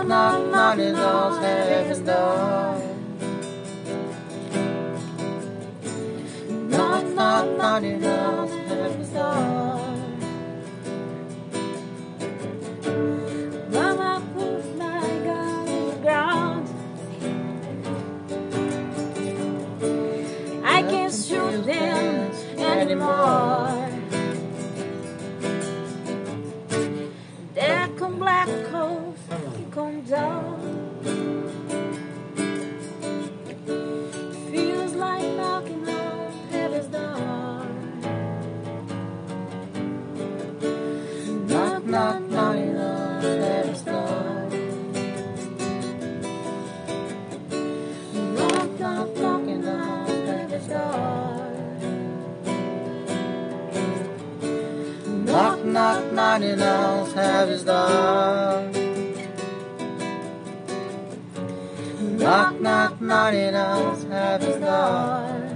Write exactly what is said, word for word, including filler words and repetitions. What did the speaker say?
knock, knocking on heaven's door. Knock, knock, knocking on heaven's door. Mama put my gun on the ground. I can't shoot them anymore. There come Black Cove, he come down. Feels like knocking on heaven's door. Knock, knock, knocking on heaven's door. Knock, knock, knocking on heaven's door. Knock, knock, knocking on heaven's door. Knock, knock, knocking on heaven's door.